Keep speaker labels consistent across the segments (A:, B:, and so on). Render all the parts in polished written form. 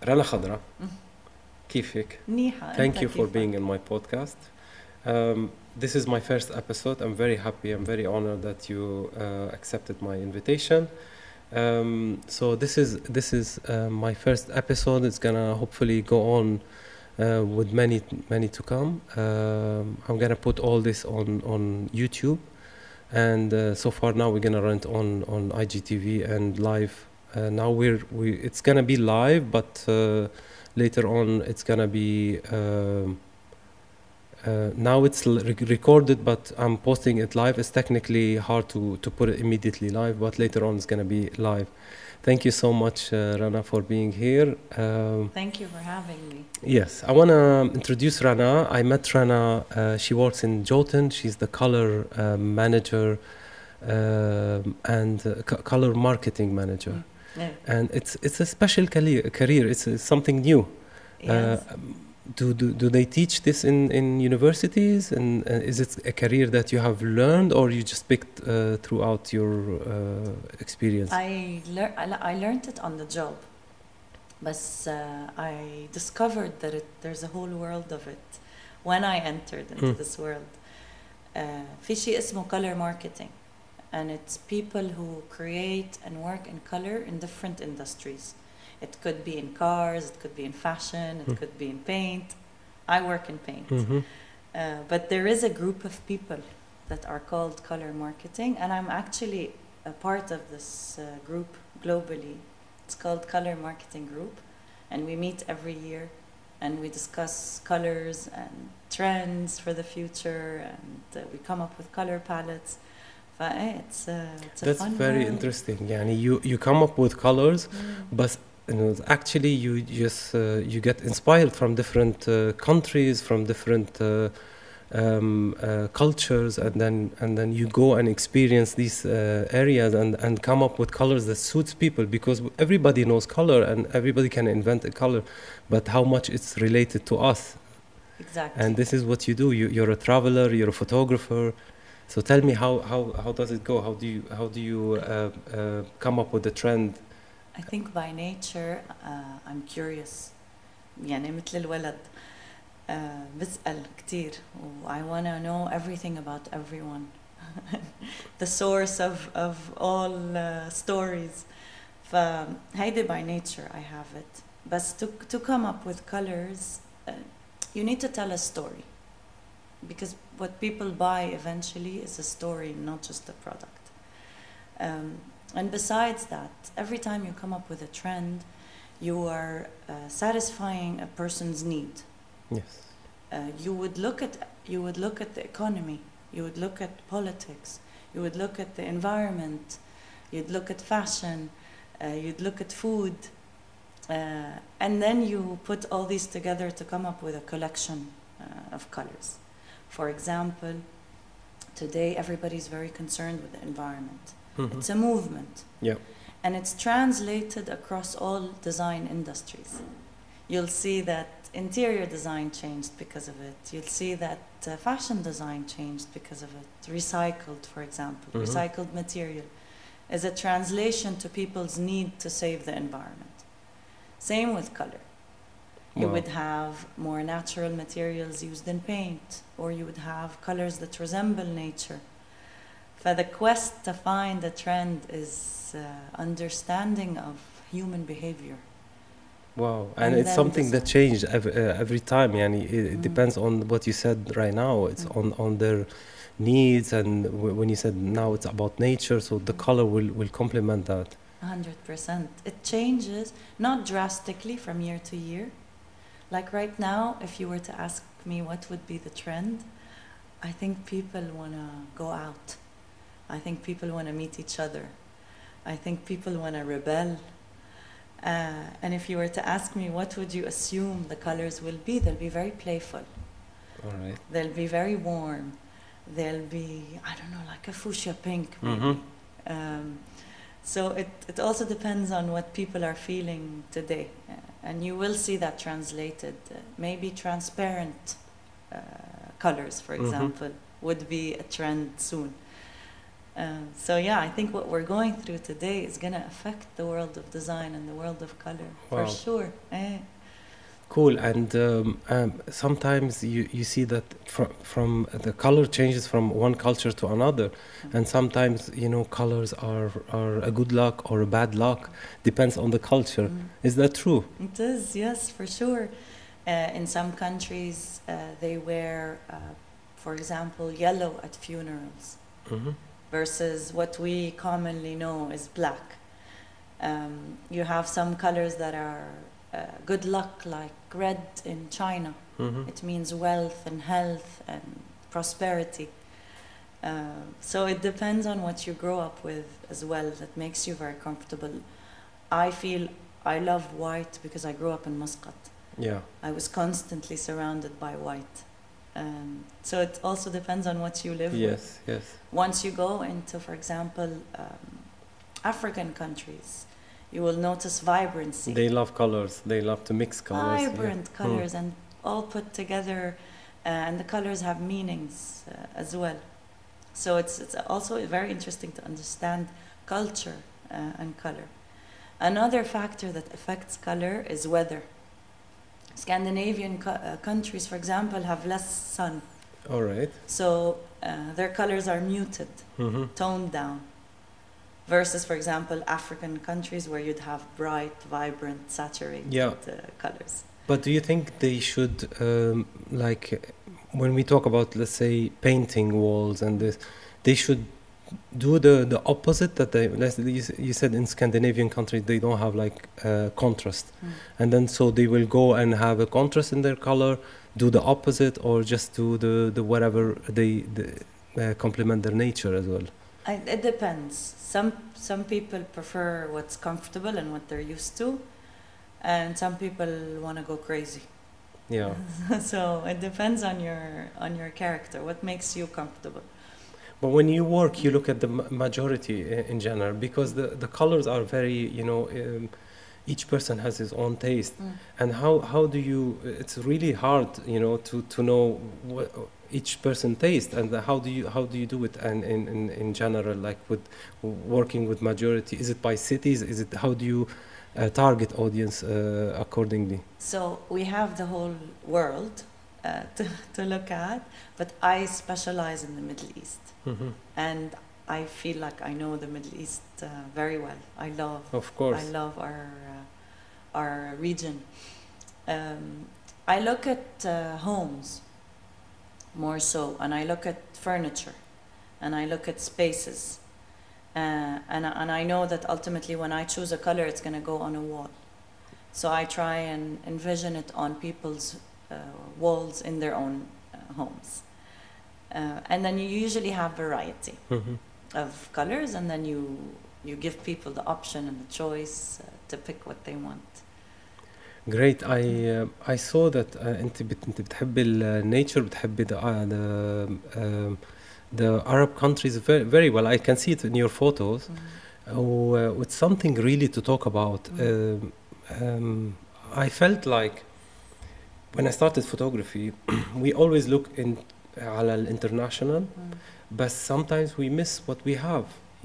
A: رنا خضرا كيفك؟
B: منيحة.
A: Thank
B: أنت
A: you for
B: كيفك؟
A: being in my podcast. This is my first episode. I'm very happy. I'm very honored that you accepted my invitation. So this is my first episode. It's gonna hopefully go on with many to come. I'm gonna put all this on YouTube, and so far now we're gonna run it on IGTV and live. Now it's gonna be live, but later on it's gonna be. Now it's recorded, but I'm posting it live. It's technically hard to put it immediately live, but later on it's going to be live. Thank you so much, Rana, for being here.
B: Thank you for having me.
A: Yes, I want to introduce Rana. I met Rana. She works in Jotun. She's the color manager and color marketing manager.
B: Yeah.
A: And it's a special career. It's something new.
B: Yes.
A: Do they teach this in universities, and is it a career that you have learned or you just picked throughout your experience?
B: I learned it on the job, but I discovered that there's a whole world of it when I entered into this world. في شيء اسمه color marketing, and it's people who create and work in color in different industries. It could be in cars, it could be in fashion, it could be in paint. I work in paint. But there is a group of people that are called color marketing, and I'm actually a part of this group globally. It's called Color Marketing Group, and we meet every year, and we discuss colors and trends for the future, and we come up with color palettes. It's
A: That's
B: fun
A: very
B: world.
A: interesting. Yani you come up with colors, but actually you just you get inspired from different countries, from different cultures, and then you go and experience these areas and come up with colors that suits people, because everybody knows color and everybody can invent a color, but how much it's related to us.
B: Exactly.
A: And this is what you do. You're a traveler, you're a photographer. So tell me how does it go? How do you come up with the trend?
B: I think by nature I'm curious. يعني مثل الولد بسأل كتير و I want to know everything about everyone. The source of all stories. فهيدي by nature I have it. But to come up with colors you need to tell a story, because what people buy eventually is a story, not just a product. And besides that, every time you come up with a trend, you are satisfying a person's need.
A: Yes.
B: You would look at the economy, you would look at politics, you would look at the environment, you'd look at fashion, you'd look at food, and then you put all these together to come up with a collection of colors. For example, today everybody's very concerned with the environment. It's a movement.
A: Yeah.
B: And it's translated across all design industries. You'll see that interior design changed because of it. You'll see that fashion design changed because of it. Recycled, for example. Recycled material is a translation to people's need to save the environment. Same with color. You would have more natural materials used in paint, or you would have colors that resemble nature. For the quest to find a trend is understanding of human behavior.
A: Wow, and it's something that changed every time. Yani it depends on what you said right now. It's on their needs, and when you said now it's about nature, so the color will complement that.
B: 100%. It changes, not drastically from year to year. Like right now, if you were to ask me what would be the trend, I think people want to go out. I think people want to meet each other. I think people want to rebel. And if you were to ask me what would you assume the colors will be, they'll be very playful.
A: All right.
B: They'll be very warm. They'll be, I don't know, like a fuchsia pink maybe. So it also depends on what people are feeling today. And you will see that translated. Maybe transparent colors, for example, would be a trend soon. So yeah, I think what we're going through today is going to affect the world of design and the world of color for
A: Wow.
B: sure.
A: Cool. And sometimes you see that from the color changes from one culture to another, and sometimes colors are a good luck or a bad luck, depends on the culture. Is that true?
B: It is, yes, for sure. In some countries, they wear, for example, yellow at funerals.
A: Mm-hmm.
B: Versus what we commonly know as black. You have some colors that are good luck, like red in China.
A: Mm-hmm.
B: It means wealth and health and prosperity. So it depends on what you grow up with as well that makes you very comfortable. I feel I love white because I grew up in Muscat.
A: Yeah.
B: I was constantly surrounded by white. So it also depends on what you live with.
A: Yes.
B: Once you go into, for example, African countries, you will notice vibrancy.
A: They love colors. They love to mix colors.
B: Vibrant colors and all put together, and the colors have meanings as well. So it's also very interesting to understand culture and color. Another factor that affects color is weather. Scandinavian countries, for example, have less sun.
A: All right.
B: So their colors are muted, toned down. Versus, for example, African countries where you'd have bright, vibrant, saturated colors.
A: But do you think they should, like, when we talk about, let's say, painting walls and this, they should do the opposite that you said in Scandinavian countries they don't have like contrast, and then so they will go and have a contrast in their color, do the opposite, or just do the whatever they complement their nature as well.
B: It depends. Some people prefer what's comfortable and what they're used to, and some people want to go crazy.
A: Yeah.
B: So it depends on your character, what makes you comfortable.
A: But when you work, you look at the majority in general, because the colors are very, each person has his own taste. And how do you, it's really hard, to know what each person taste, and how do you do it and in general, like with working with majority? Is it by cities? Is it, how do you target audience accordingly?
B: So we have the whole world to look at, but I specialize in the Middle East. And I feel like I know the Middle East very well.
A: Of course.
B: I love our region. I look at homes more so, and I look at furniture, and I look at spaces, and I know that ultimately when I choose a color, it's going to go on a wall. So I try and envision it on people's walls in their own homes. And then you usually have variety of colors, and then you give people the option and the choice to pick what they want.
A: Great. I saw that انت بتحبي nature, بتحبي the Arab countries very, very well. I can see it in your photos. It's something really to talk about. I felt like when I started photography, we always look على الانترناشونال, but sometimes we miss what we have,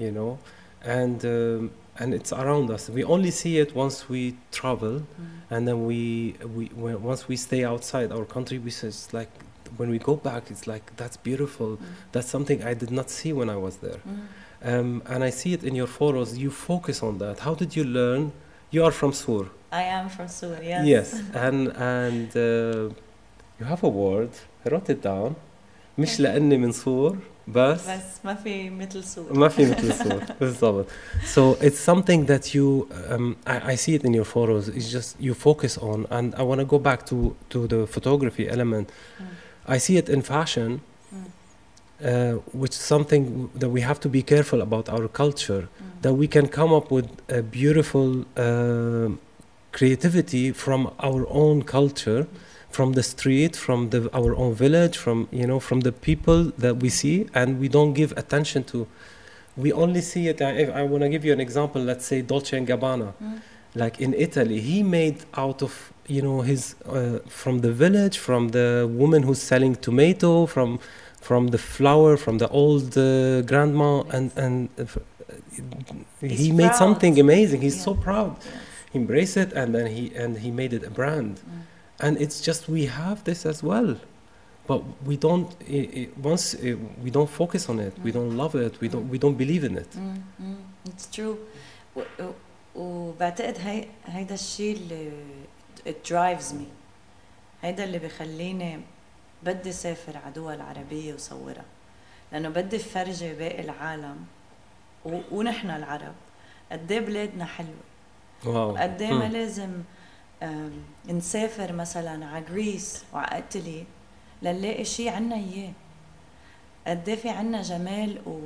A: and it's around us. We only see it once we travel, and then once we stay outside our country, we say it's like when we go back, it's like that's beautiful. That's something I did not see when I was there, and I see it in your photos. You focus on that. How did you learn? You are from Sur.
B: I am from Sur. Yes.
A: Yes, and you have a word. I wrote it down. مش لأني من صور بس
B: ما في مثل صور.
A: ما في مثل صور بالضبط. So it's something that you I see it in your photos. It's just you focus on, and I want to go back to the photography element. I see it in fashion, which is something that we have to be careful about our culture, that we can come up with a beautiful creativity from our own culture, from the street, from our own village, from the people that we see, and we don't give attention to. We only see it. I want to give you an example. Let's say Dolce & Gabbana, like in Italy, he made out of his from the village, from the woman who's selling tomato, from the flower, from the old grandma,
B: Yes.
A: and
B: He's
A: he made
B: proud.
A: something amazing. He's so
B: Yeah.
A: proud.
B: Yes.
A: He embraced it, and then he made it a brand. And it's just we have this as well, but we don't. Once we don't focus on it, we don't love it. We don't believe in it.
B: It's true. وبعتقد هيدا الشيء اللي it drives me. هيدا اللي بيخليني بدي سافر على دول عربية وصورها، لأنه بدي فرجي باقي العالم ونحن العرب قد ايه بلادنا حلوة.
A: واو.
B: قد ايه ما لازم نسافر مثلا على غريس وعلى ايطالي لنلاقي شيء عنا اياه. قد ايه في عنا جمال و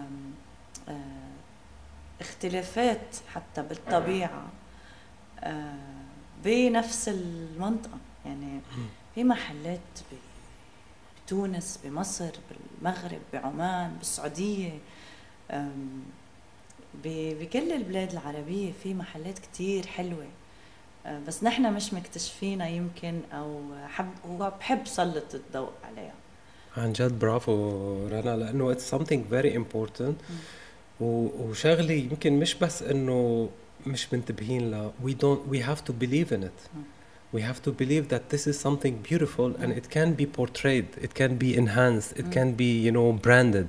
B: اختلافات حتى بالطبيعة بنفس المنطقة. يعني في محلات بتونس، بمصر، بالمغرب، بعمان، بالسعودية، بكل البلاد العربية في محلات كتير حلوة، بس نحن مش مكتشفينها يمكن، أو بحب سلط الضوء عليها.
A: عن جد برافو رنا، لأنه it's something very important. وشغلي يمكن مش بس إنه مش منتبهين له. we have to believe in it. We have to believe that this is something beautiful and it can be portrayed, it can be enhanced, it can be branded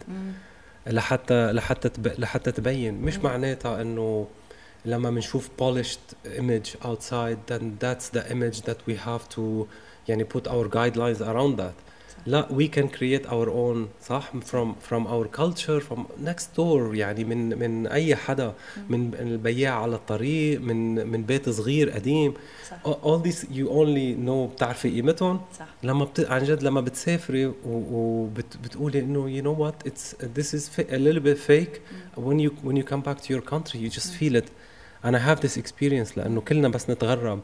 A: لحتى تبين. مش معناتها إنه لما بنشوف polished image outside then that's the image that we have to put our guidelines around that. لا, we can create our own صح from our culture, from next door. يعني من أي حدا، من البياع على الطريق، من بيت صغير قديم.
B: صح.
A: all these you only know بتعرفي قيمتهم لما عن جد لما بتسافري وبتقولي إنه you know what, this is a little bit fake. when you come back to your country you just feel it. and I have this experience لأنه كلنا بس نتغرب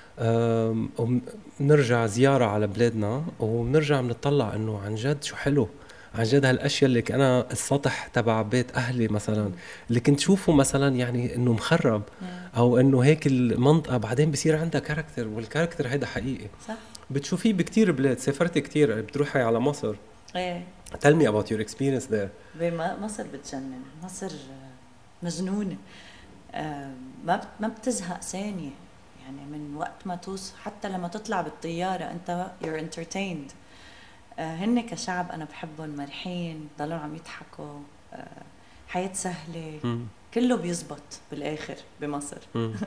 A: ونرجع زيارة على بلادنا ونرجع بنطلع انه عن جد شو حلو. عن جد هالاشياء اللي انا السطح تبع بيت اهلي مثلا اللي كنت شوفه مثلا يعني انه مخرب او انه هيك المنطقة بعدين بصير عندها كاركتر، والكاركتر هيدا حقيقي.
B: صح.
A: بتشوفيه بكتير بلاد. سافرت كتير، بتروحي على مصر.
B: ايه.
A: Tell me about your experience there.
B: مصر بتجنن. مصر مجنونة. ما بتزهق ثانية. يعني من وقت ما توصل حتى لما تطلع بالطيارة أنت you're entertained. هن كشعب أنا بحبهم، مرحين، ضلوا عم يضحكوا، حياة سهلة. كله بيزبط بالآخر بمصر.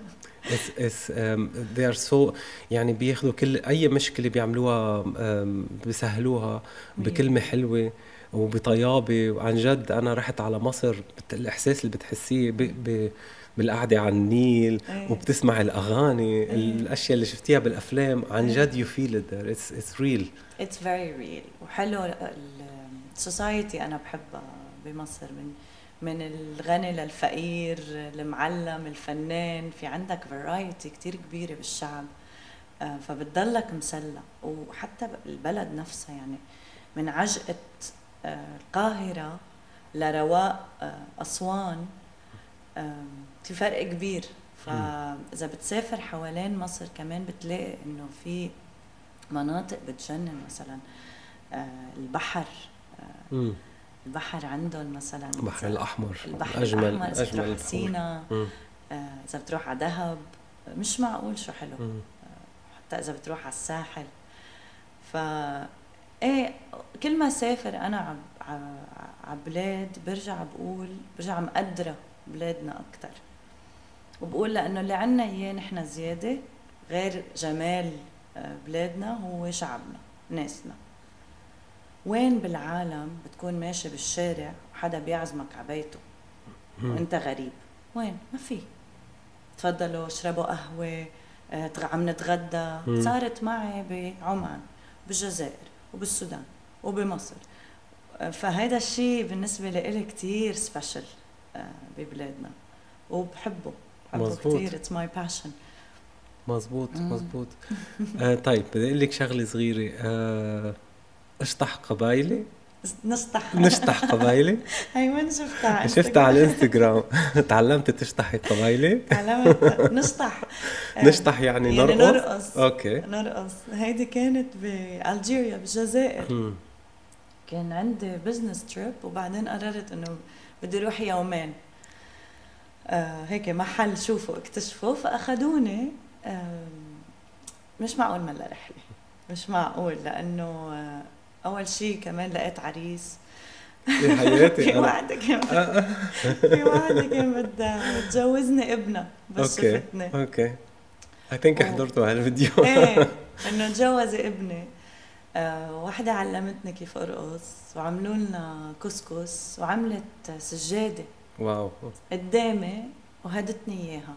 A: they are so يعني بياخدوا كل أي مشكلة بيعملوها بيسهلوها بكلمة حلوة وبطيابة. وعن جد أنا رحت على مصر، الإحساس اللي بتحسيه بالقعدة على النيل وبتسمع الأغاني، الأشياء اللي شفتيها بالأفلام، عن جد you feel it there. It's real.
B: It's very real. وحلو السوسايتي أنا بحبها بمصر، من الغني للفقير، المعلم، الفنان، في عندك variety كتير كبيرة بالشعب. فبتضلك مسلى. وحتى البلد نفسها يعني من عجقة القاهرة لرواق أسوان في فرق كبير. فإذا بتسافر حوالين مصر كمان بتلاقي إنه في مناطق بتجنن. مثلا البحر، البحر عندهم مثلا
A: البحر الأحمر،
B: البحر الأحمر. إذا بتروح على سينا، إذا بتروح على دهب، مش معقول شو حلو. حتى إذا بتروح على الساحل. إيه كل ما سافر أنا عبلاد برجع مقدرة بلادنا أكتر، وبقول لأنه اللي عنا إياه نحن زيادة غير جمال بلادنا هو شعبنا، ناسنا. وين بالعالم بتكون ماشي بالشارع وحدا بيعزمك على بيته وانت غريب؟ وين؟ ما في. تفضلوا اشربوا قهوة، عم نتغدى. صارت معي بعمان، بالجزائر، وبالسودان، وبمصر. فهذا الشيء بالنسبة لي كتير سبيشل ببلادنا، وبحبه كتير. It's my passion.
A: مزبوط. طيب بدي أقول لك شغلة صغيرة. اشطح قبايلي. نشطح قبايلي.
B: هاي وين شفتها؟
A: شفتها على الانستغرام. تعلمت تشطحي قبايلي؟
B: تعلمت نشطح.
A: نشطح يعني نرقص.
B: اوكي، نرقص. هيدي كانت بألجيريا بالجزائر. كان عندي بزنس تريب وبعدين قررت انه بدي اروح يومين هيك محل شوفوا اكتشفوا فاخذوني. مش معقول ملا رحله، مش معقول، لانه اول شيء كمان لقيت عريس.
A: يا حياتي
B: في واحدة كان في واحدة كان بدها تجوزني ابنها بس
A: اوكي
B: شفتني.
A: اوكي I think حضرته هالفيديو.
B: ايه انه تجوزي ابني. واحدة علمتني كيف ارقص وعملوا لنا كسكس وعملت سجادة
A: واو
B: قدامي وهدتني اياها.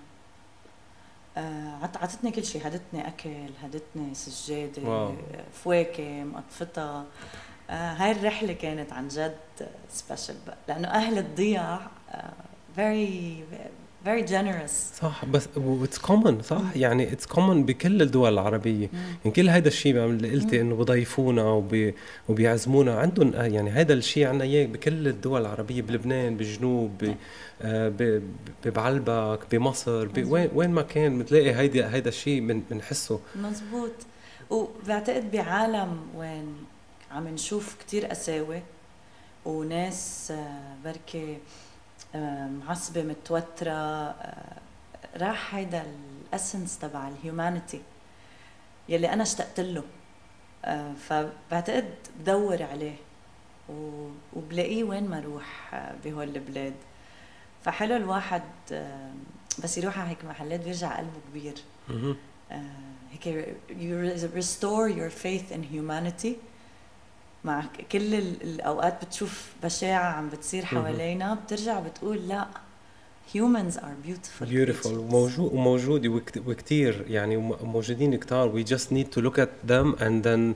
B: عطتني كل شيء، هدتني اكل، هدتني سجادة،
A: واو.
B: فواكه مقطفتها. هاي الرحلة كانت عن جد سبيشال لأنه أهل الضياع very very generous.
A: صح، بس اتس كومن صح، يعني اتس كومن بكل الدول العربية. يعني كل هيدا الشيء اللي قلتي انه بضيفونا وبيعزمونا عندهم، يعني هيدا الشيء عنا اياه بكل الدول العربية، بلبنان، بالجنوب، بعلبك، بمصر، وين ما كان بتلاقي هيدا الشيء بنحسه.
B: مزبوط. وبعتقد بعالم وين عم نشوف كتير قساوة وناس بركي معصبة متوترة، راح هيدا الاسنس تبع الهيومانيتي يلي انا اشتقت له. فبعتقد بدور عليه وبلاقيه وين ما اروح بهول البلاد. فحلو الواحد بس يروح على هيك محلات بيرجع قلبه كبير. هيك you restore your faith in humanity. مع كل الأوقات بتشوف بشاعة عم بتصير حوالينا بترجع بتقول لا، humans are beautiful
A: وموجود وكتير، يعني موجودين كتار. we just need to look at them and then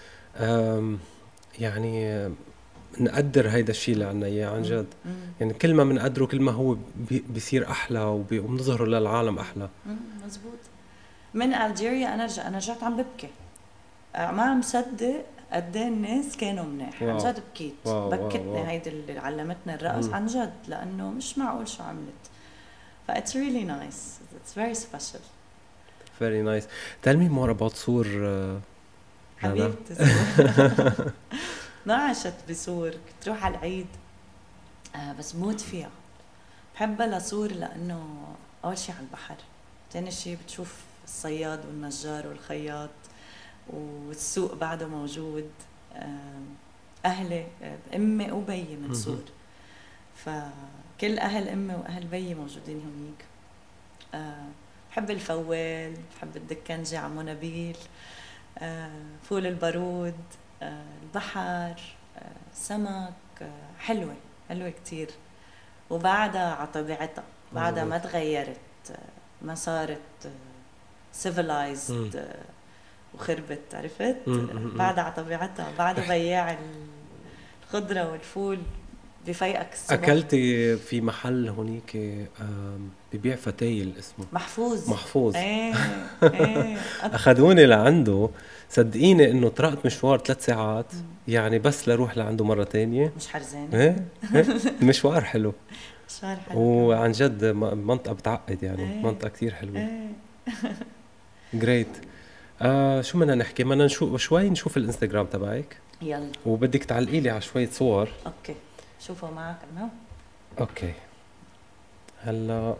A: يعني نقدر هيدا الشيء اللي عنا اياه عن جد. يعني كل ما بنقدره كل ما هو بيصير احلى وبنظهره للعالم احلى.
B: مزبوط. من ألجيريا أنا رجعت عم ببكي، ما عم صدق قد ايه الناس كانوا منيح. عن جد بكيت، بكتني هيدي اللي علمتني الرقص عن جد، لأنه مش معقول شو عملت. ف it's really nice, it's very special.
A: Very nice. Tell me more about سور.
B: حبيبتي سور. ما عشت بسور، كنت روح على العيد بس موت فيها. بحبها لسور لأنه أول شيء على البحر، تاني شيء بتشوف الصياد والنجار والخياط، والسوق بعده موجود. أهلي أمي وبيي من سور، فكل أهل أمي وأهل بيي موجودين هونيك. بحب الفوال، بحب الدكنجة عمو نبيل، فول البارود، البحر، سمك. حلوة كتير، وبعدها على طبيعتها، بعدها ما تغيرت، ما صارت civilized وخربت، عرفت؟ بعدها على طبيعتها، بعدها بياع الخضرة والفول بفيقك الصبح.
A: أكلتي في محل هونيك ببيع فتايل اسمه محفوظ.
B: ايه
A: أخذوني لعنده، صدقيني إنه طرقت مشوار 3 ساعات يعني بس لروح لعنده مرة تانية.
B: مش حرزانة.
A: ايه المشوار حلو.
B: مشوار حلو
A: وعن جد منطقة بتعقد، يعني منطقة كتير حلوة. great. شو بدنا نحكي؟ بدنا نشوف الانستغرام تبعك.
B: يلا.
A: وبدك تعلقي لي على شوية صور.
B: اوكي، شوفوا معك انا.
A: اوكي، هلا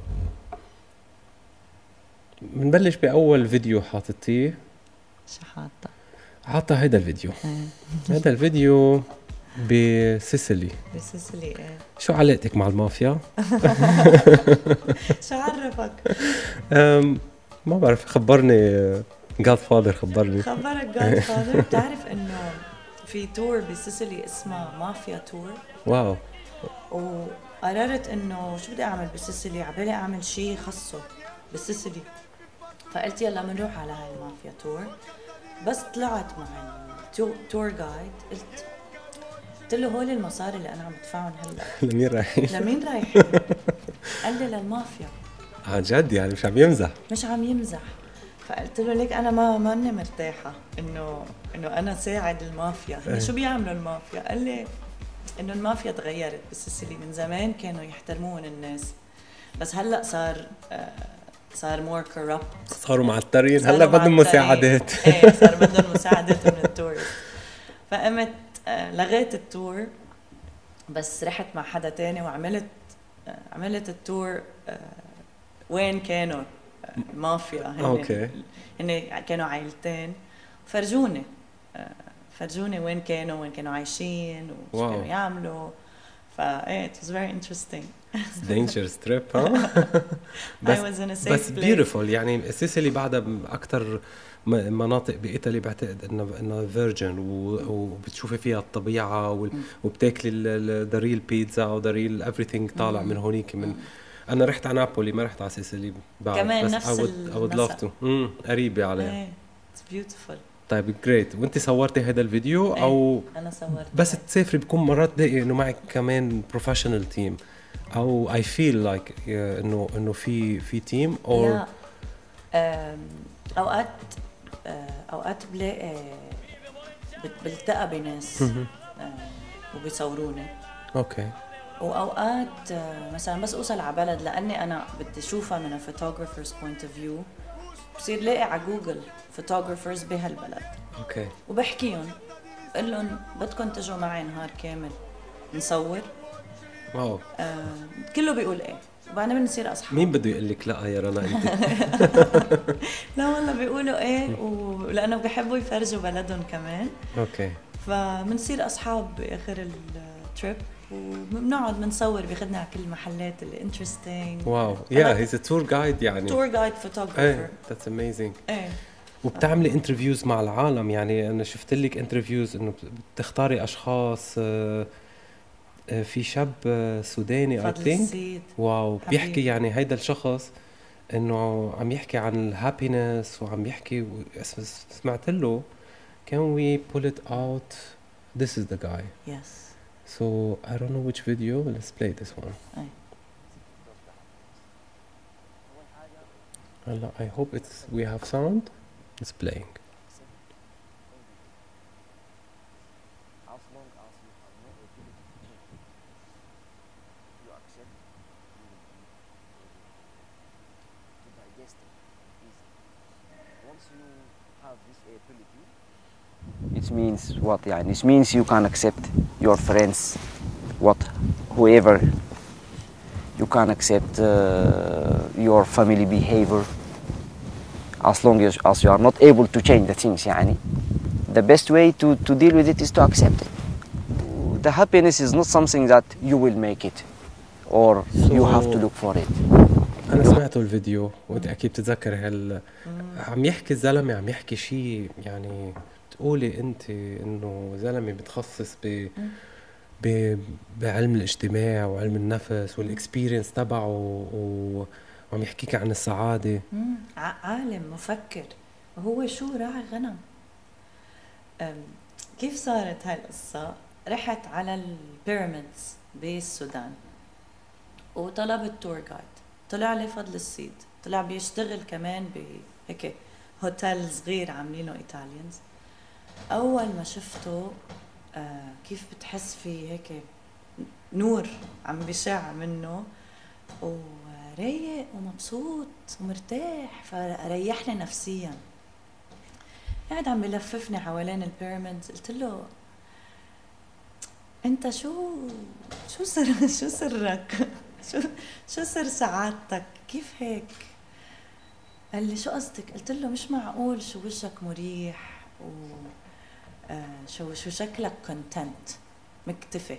A: بنبلش بأول فيديو حاطتيه.
B: شو
A: حاطة هيدا الفيديو. هيدا الفيديو بسيسيلي.
B: ايه.
A: شو علاقتك مع المافيا؟
B: شو عرفك؟
A: ما بعرف، خبرني Godfather. خبرك
B: Godfather. بتعرف انه في تور بسيسيلي اسمها مافيا تور؟
A: واو.
B: وقررت انه شو بدي اعمل بسيسيلي، عبالي اعمل شيء خاصه بسيسيلي. فقلت يلا بنروح على هاي المافيا تور. بس طلعت مع التور جايد، قلت له هول المصاري اللي انا عم بدفعهم هلا
A: لمين رايحين؟
B: قال لي للمافيا.
A: عن جد يعني مش عم يمزح.
B: فقلت له ليك انا ما اني مرتاحه انه انا ساعد المافيا. شو بيعملوا المافيا؟ قال لي انه المافيا تغيرت بسيسيلي، من زمان كانوا يحترمون الناس بس هلا صار مور كوربت،
A: صاروا معترين، هلا بدهم مساعدات.
B: ايه صار بدهم مساعدات من التورست. فقمت لغيت التور، بس رحت مع حدا تاني وعملت عملت التور وين كانوا المافيا.
A: اوكي.
B: هن كانوا عائلتين، فرجوني وين كانوا عايشين وش كانوا يعملوا. فايه it was very interesting.
A: It's dangerous trip ها.
B: I was in a safe
A: بس
B: place.
A: beautiful يعني سيسيلي بعدها أكتر مناطق بإيطالي بعتقد إنه فيرجن وبتشوفي فيها الطبيعة وبتاكلي الداريل بيتزا وداريل everything طالع من هونيك. من أنا رحت على نابولي ما رحت على سيسيلي بعد،
B: كمان
A: بس
B: نفس
A: I would love to. قريبة عليها.
B: It's beautiful.
A: طيب great. وانت صورتي هذا الفيديو او
B: انا صورت؟
A: بس تسافري بكون مرات تلاقي انه معك كمان بروفيشنال تيم او I feel like انه في تيم او
B: لا. اوقات بلاقي بلتقى بناس وبيصوروني.
A: اوكي.
B: واوقات مثلا بس اوصل على بلد لاني انا بدي اشوفها من photographer's point of view، بصير لاقي على جوجل photographers بهالبلد.
A: اوكي.
B: وبحكيهم بقول لهم بدكم تجوا معي نهار كامل نصور؟
A: واو.
B: كله بيقول ايه، وبعدين بنصير اصحاب.
A: مين بده يقول لك لا يا رنا انت؟
B: لا والله بيقولوا ايه، ولانه بيحبوا يفرجوا بلدهم كمان.
A: اوكي.
B: فبنصير اصحاب باخر التريب، وبنقعد بنصور، بياخذنا على كل المحلات اللي انترستينج.
A: واو. يا هيز تور جايد يعني.
B: تور جايد فوتوغرافر.
A: ايه ذاتس اميزنج.
B: ايه.
A: وبتعملي انترفيوز مع العالم يعني. انا شفت لك انترفيوز انه بتختاري اشخاص. في شاب سوداني I think. واو. بيحكي يعني هيدا الشخص انه عم يحكي عن الهابينس وعم يحكي سمعت له can we pull it out. This is the guy.
B: Yes.
A: So I don't know which video. Let's play this one. I hope we have sound. It's playing.
C: It means what يعني? It means you can accept your friends, whoever. You can accept your family behavior as long as you are not able to change the things يعني. The best way to deal with it is to accept it. The happiness is not something that you will make it or you have to look for it.
A: أنا سمعته الفيديو وأنت أكيد بتتذكر عم يحكي الزلمة، عم يحكي شيء يعني تقولي أنت إنه زلمة بتخصص بعلم الاجتماع وعلم النفس والإكسبيرينس تبعه وعم يحكيك عن السعادة.
B: عالم مفكر، وهو شو راعي غنم. كيف صارت هاي القصة؟ رحت على البيراميدز بالسودان وطلبت تور جايد، طلع لي فضل السيد، طلع بيشتغل كمان بهيك هوتيل صغير عاملينه ايطاليانز. اول ما شفته كيف بتحس في هيك نور عم بيشع منه، ورايق ومبسوط ومرتاح، فريحني نفسيا. قاعد عم بلففني حوالين البيراميدز، قلت له انت شو سرك؟ شو سر سعادتك؟ كيف هيك؟ قال لي شو قصدك؟ قلت له مش معقول شو وجهك مريح شو شكلك كونتنت مكتفي.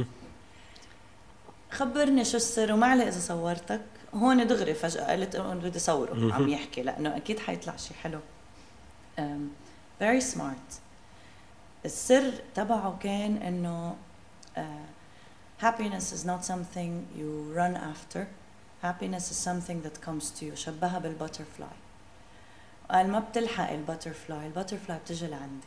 B: خبرني شو السر، وما عليه اذا صورتك. هون دغري فجأة قلت بدي صوره عم يحكي لانه اكيد حيطلع شيء حلو. very smart. السر تبعه كان انه happiness is not something you run after. Happiness is something that comes to you. شبهها بالباترفلاي. قال ما بتلحق الباترفلاي بتجي لعندك.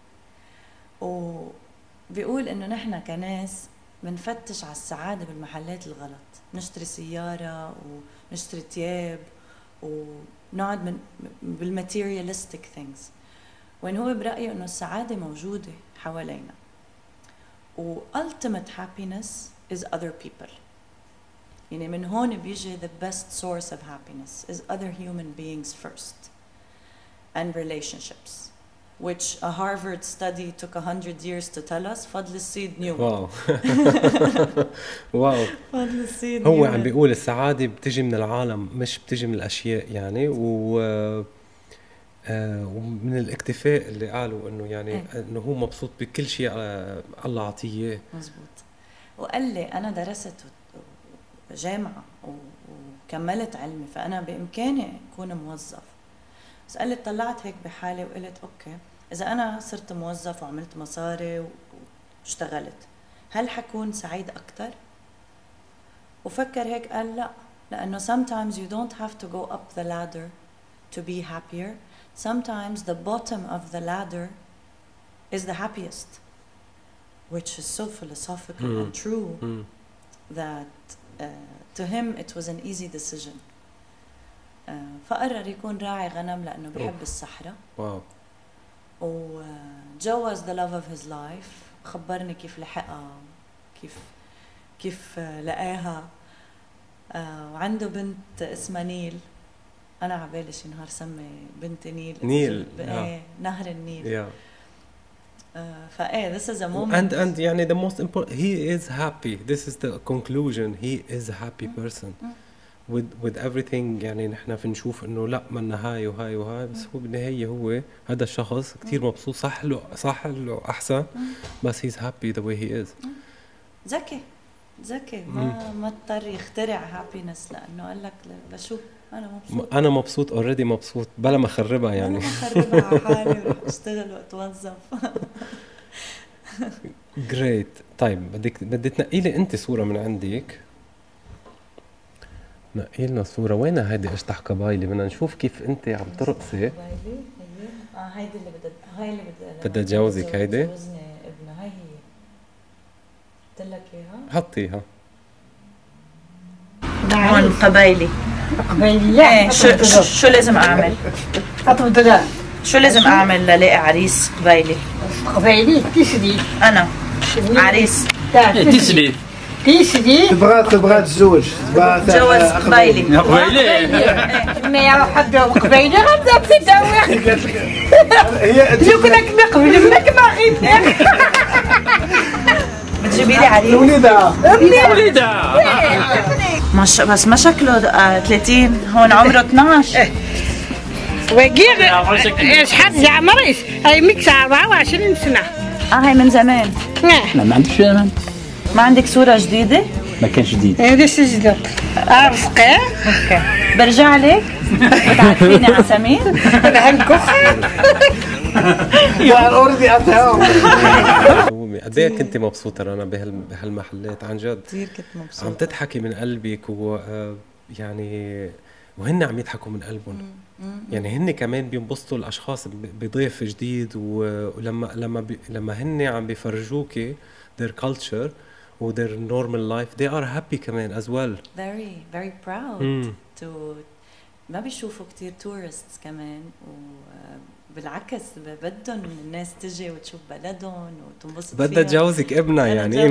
B: وبيقول انه نحن كناس بنفتش على السعادة بالمحلات الغلط، نشتري سيارة ونشتري تياب ونقعد من بالmaterialistic things، وين هو برأيه انه السعادة موجودة حوالينا. و ultimate happiness is other people. يعني من هون بيجي the best source of happiness is other human beings first and relationships. which a Harvard study took 100 years to tell us. فضل الصيد knew.
A: واو واو.
B: فضل الصيد
A: هو
B: knew
A: عم
B: it.
A: بيقول السعادة بتجي من العالم مش بتجي من الأشياء يعني ومن الاكتفاء اللي قالوا إنه يعني إنه هو مبسوط بكل شيء الله عطيه.
B: مزبوط. وقال لي أنا درست جامعة وكملت علمي فأنا بإمكاني أكون موظف. بس قال لي طلعت هيك بحالي وقلت أوكي إذا أنا صرت موظف وعملت مصاري واشتغلت هل حكون سعيد أكتر؟ وفكر هيك قال لا، لأنه sometimes you don't have to go up the ladder to be happier. Sometimes the bottom of the ladder is the happiest, which is so philosophical and true that to him it was an easy decision. فقرر يكون راعي غنم لأنه بيحب الصحراء.
A: واو.
B: وجوز the love of his life. خبرني كيف لحقها، كيف لقاها. وعنده بنت اسمها نيل. أنا عبالي شي نهار سمي بنت نيل. نهر النيل. فايه this is a moment.
A: And يعني the most important, he is happy. This is the conclusion. He is a happy person. with everything. يعني نحن في نشوف انه لا منا هاي وهاي وهاي، بس هو بالنهاية هو هذا الشخص كتير مبسوط. صح له احسن، بس he's happy the way he is.
B: ذكي ما اضطر يخترع happiness لانه قال لك لشو
A: انا مبسوط already مبسوط بلا ما اخربها يعني.
B: بلا ما اخربها على حالي وراح اشتغل واتوظف.
A: great. طيب بدي تنقي لي انت صورة من عندك. نقي لنا صورة. وين هيدي اشطح قبايلي؟ بدنا نشوف كيف انت عم ترقصي.
B: هيدي اللي هاي اللي
A: بدها تجوزك. هيدي
B: جوزني ابنها. هاي هي قلت لك اياها.
A: حطيها
B: هون قبايلي. ايه شو لازم اعمل؟ شو لازم اعمل للاقي عريس قبايلي؟ تسدي انا عريس تسدي
D: تبغى تزوج
B: تجوز قبايلي.
E: ما يروح حد قبايلي غدا بتداوي. هي لو كنا نقبل منك ما غير
B: بتجيبي لي عريس.
E: وليدها
B: بس ما شكله 30 هون عمره 12.
E: وقير ايش حد يا مريس هاي ميكس 24 سنة.
B: هاي من زمان.
F: لا ما عندكش زمان.
B: ما عندك صورة جديدة؟
F: ما كانش جديد.
E: هذا سجدت. رفقي.
B: اوكي. برجع لك. بتعرفيني على سمير؟
E: انا هنكخ.
D: يا اوريدي اتهم.
A: قد ايه كنت مبسوطة رنا بهالمحلات عن جد؟
B: كثير كنت مبسوطة.
A: عم تضحكي من قلبك يعني وهن عم يضحكوا من قلبهم. يعني هن كمان بينبسطوا الاشخاص بضيف جديد. لما هن عم بيفرجوكي their culture و their normal life they are happy كمان as well.
B: very proud to ما بيشوفوا كتير tourists كمان. بالعكس بدهم الناس تجي وتشوف بلدهم وتنبسط فيها.
A: بدها تجوزك ابنها يعني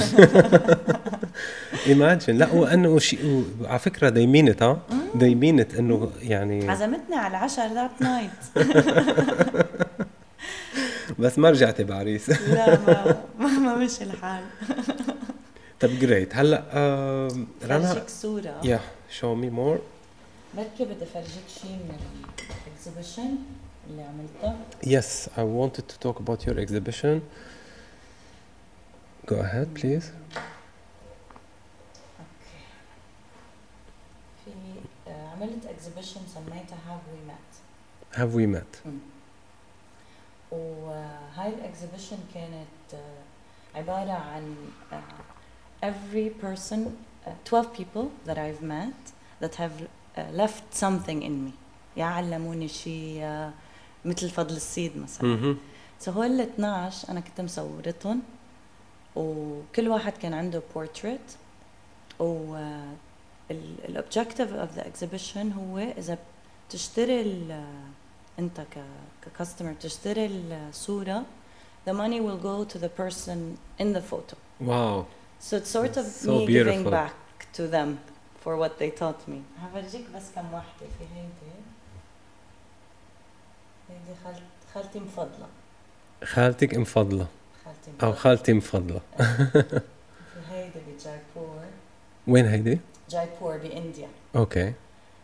A: imagine. لا وانه شيء على فكره they mean it. they mean it انه يعني
B: عزمتني على العشاء ذات نايت.
A: بس ما رجعتي بعريس.
B: لا ما مشي الحال.
A: طب جريت. هلا رنا
B: فرجيك صورة.
A: show me more.
B: بركي بدي فرجيك شيء من الاكزيبيشن اللي عملتها.
A: Yes, I wanted to talk about your exhibition. Go ahead, please.
B: Okay. في عملت exhibition سميتها Have We Met.
A: Have we met?
B: وهاي الاكزيبيشن كانت عبارة عن every person 12 people that I've met that have left something in me. يعلموني شيء مثل فضل الصيد مثلا. هول ال 12 انا كنت مصورتهم وكل واحد كان عنده portrait. و الobjective of the exhibition هو اذا بتشتري انت ككاستمر بتشتري الصورة the money will go to the person in the photo.
A: Wow.
B: So it's sort of
A: so
B: me
A: beautiful.
B: giving back to them for what they taught me. هفرجيك بس كم واحدة. في هيدي هيدي خالتي مفضلة.
A: خالتك مفضلة
B: خالتي
A: أو
B: مفضلة.
A: خالتي مفضلة.
B: في هيدي بجايبور.
A: وين هيدي؟
B: جايبور بإنديا.
A: أوكي.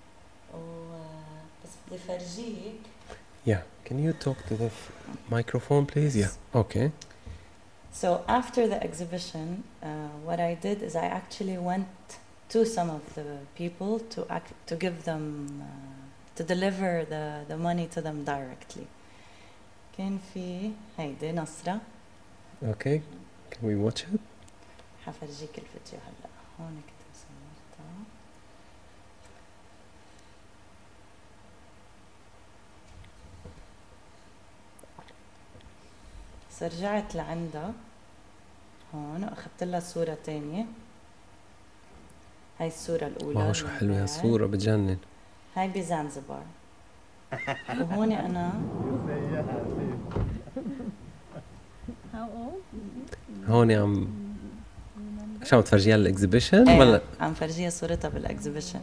B: بس بدي فرجيك.
A: Yeah. Can you talk to the microphone, please? Yeah. Okay.
B: So after the exhibition, what I did is I actually went to some of the people to give them, to deliver the money to them directly. كان في هيدي نصرة.
A: Okay. Can we watch it?
B: حفرجيك الفيديو هلا. هون كنت صورتها. رجعت لعندها هون واخذت لها صورة تانية. هاي الصورة الأولى.
A: واو شو حلوة الصورة بتجنن.
B: هاي بزنزبار. وهون أنا.
A: هون شو عم تفرجيها الاكزيبيشن ولا؟
B: عم فرجيها صورتها بالاكزيبيشن.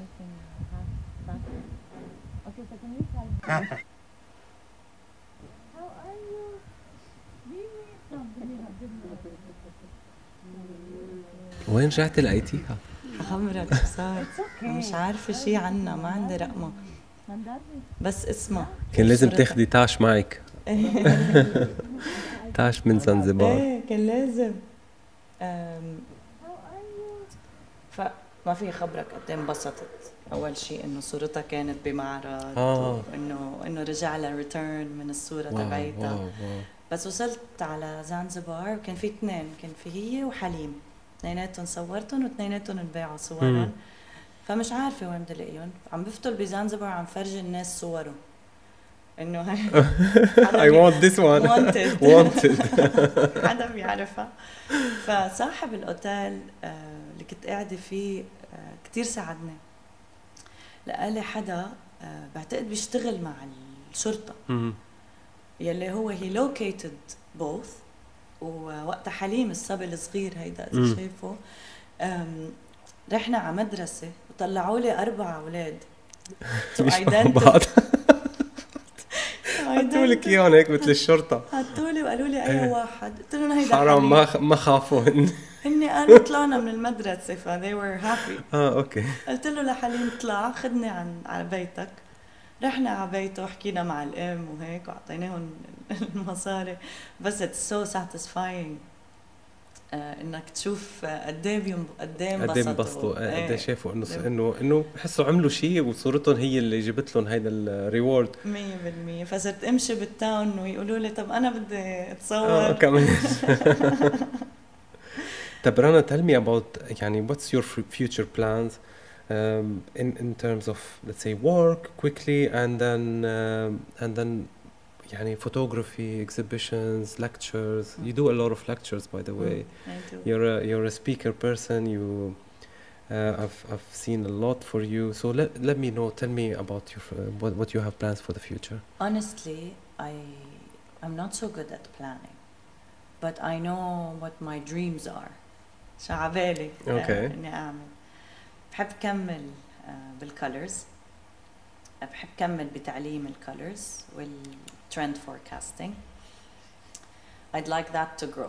A: وين رجعتي لقيتيها؟
B: خمرك شو صار؟ مش عارفة شي عنها، ما عندي رقمها بس اسمها.
A: كان لازم تاخدي تاش معك. تاش من زنزبار.
B: ايه كان لازم. فما في خبرك قد ايه انبسطت. اول شيء انه صورتها كانت بمعرض وانه رجع لها ريتيرن من الصورة تبعيتها. بس وصلت على زنزبار وكان في اثنين، كان في هي وحليم، اثنيناتهم صورتهم واثنيناتهم انباعوا صورا. فمش عارفة وين بدي الاقيهم. عم بفتل بزنزبار عم فرجي الناس صورهم انه هاي
A: I want this one. wanted.
B: حدا بيعرفها. فصاحب الاوتيل اللي كنت قاعدة فيه كتير ساعدني. لقالي حدا بعتقد بيشتغل مع الشرطة يلي هو he located both. ووقتها حليم الصبي الصغير هيدا إذا شايفه رحنا على مدرسة وطلعوا لي 4 أولاد
A: بعض. حطوا لك اياهم هيك مثل الشرطة.
B: حطوا لي وقالوا لي أي واحد. قلت لهم هيدا
A: حرام ما خافوا
B: هني قالوا طلعنا من المدرسة ف they were happy.
A: اوكي.
B: قلت له لحليم اطلع خدني على بيتك. رحنا على بيته وحكينا مع الام وهيك وعطيناهم المصاري. بس it's so satisfying انك تشوف قد ايه انبسطوا
A: قد ايه شافوا انه بحسوا عملوا شيء وصورتهم هي اللي جبت لهم هيدا الريورد
B: 100%. فصرت امشي بالتاون ويقولوا لي طب انا بدي اتصور
A: كمان. طب رنا tell me about يعني what's your future plans in terms of let's say work quickly and then يعني photography, exhibitions, lectures. You do a lot of lectures, by the way.
B: I do.
A: You're a speaker person. I've seen a lot for you. So let me know. Tell me about your what you have plans for the future.
B: Honestly, I'm not so good at planning, but I know what my dreams are. شو عبالي إني أعمل. بحب كمل بالcolors. بحب كمل بتعليم الcolors والtrend forecasting. I'd like that to grow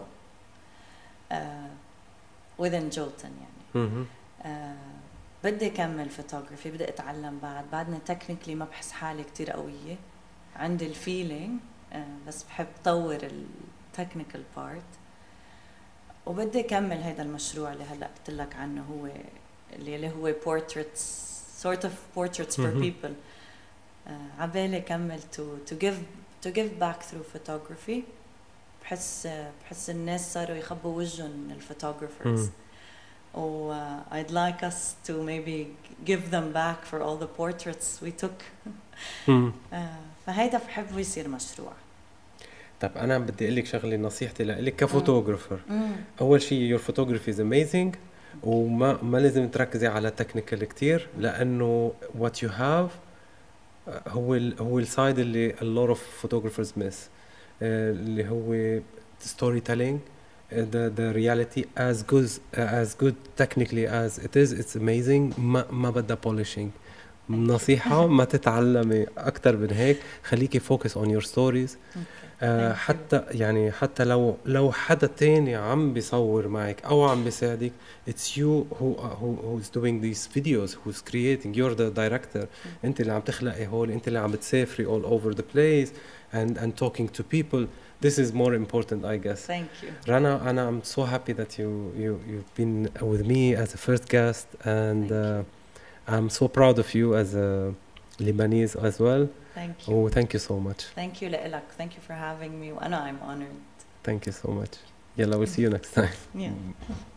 B: within Jolton يعني. بدي كمل photography. بدي أتعلم بعدني technically ما بحس حالي كتير قوية. عندي الفيلينج بس بحب طور التكنيكال part. وبدي أكمل هذا المشروع اللي هلأ قلت لك عنه هو اللي هو portraits sort of portraits for people. عبالي كمل to give back through photography. بحس الناس صاروا يخبوا وجههم الphotographers. I'd like us to maybe give them back for all the portraits we took. فهيدا بحب يصير مشروع.
A: طب أنا بدي أقول لك شغلة نصيحتي لك كفوتوغرافر. أول شيء your photography is amazing وما لازم تركزي على technical كتير لأنه what you have هو السايد اللي a lot of photographers miss اللي هو storytelling. The reality as good technically as it is, it's amazing. ما بدها polishing. نصيحة ما تتعلمي أكتر من هيك، خليكي focus on your stories. حتى يعني حتى لو حدا تاني عم بيصور معك أو عم بيساعدك، it's you who's doing these videos, who's creating, you're the director. أنت اللي عم تخلقي هول، أنت اللي عم بتسافري all over the place and talking to people. This is more important, I guess.
B: Thank you.
A: Rana, I'm so happy that you've been with me as a first guest, and I'm so proud of you as a Lebanese as well.
B: Thank you.
A: Oh, thank you so much.
B: Thank you لإلك. Thank you for having me. وأنا I'm honored.
A: Thank you so much. Yalla, we'll see you next time.
B: Yeah.